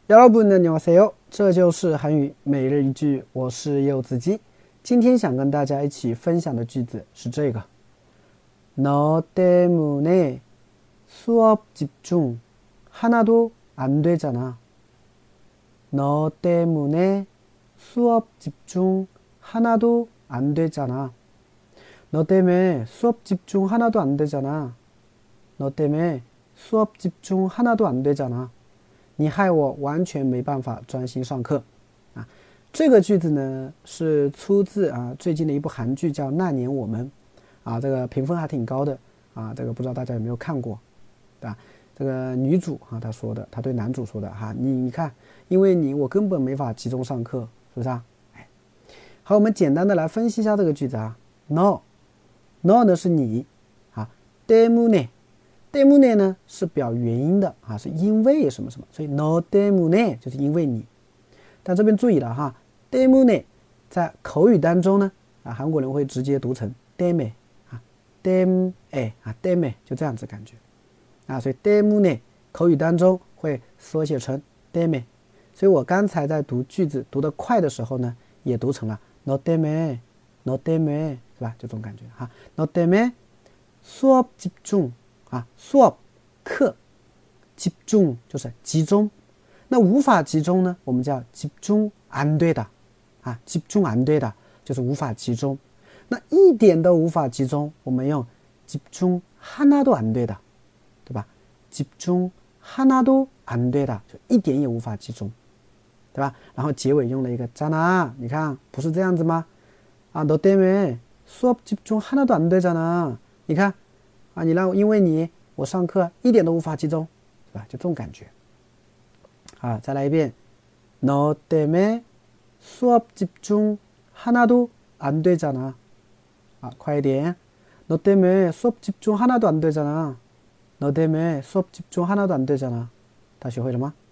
여러분 안녕하세요，这就是韩语每日一句，我是柚子鸡。今天想跟大家一起分享的句子是这个：너 때문에 수업 집중 하나도 안 되잖아. 너 때문에 수업 집중 하나도 안 되잖아. 너 때문에 수업 집중 하나도 안 되잖아. 너 때문에 수업 집중 하나도 안 되잖아. 你害我完全没办法专心上课啊！这个句子呢是出自最近的一部韩剧叫《那年我们》啊，这个评分还挺高的啊，这个不知道大家有没有看过啊？这个女主她说的，她对男主说的你看，因为你我根本没法集中上课，是不是啊？好，我们简单的来分析一下这个句子no 呢是你때문에呢是表原因的是因为什么什么，所以 no 때문에就是因为你。但这边注意了때문에在口语当中呢韩国人会直接读成 때문에 때문에 就这样子感觉所以 때문에口语当中会缩写成 때문에， 所以我刚才在读句子读得快的时候呢也读成了 no 때문에 是吧？就这种感觉no 때문에 수업 집중 수업课집중就是集中，那无法集中呢我们叫집중 안 되다 집중 안 되다就是无法集中，那一点都无法集中我们用집중 하나도 안 되다，对吧？집중 하나도 안 되다就一点也无法集中，对吧？然后结尾用了一个잖아，你看不是这样子吗？너 때문에 수업 집중 하나도 안 되잖아，你看你让因为你我上课一点都无法集中，是吧？就这种感觉再来一遍너 때문에 수업 집중 하나도 안 되잖아。快一点너 때문에 수업 집중 하나도 안 되잖아。너 때문에 수업 집중 하나도 안 되잖아。大家学会了吗？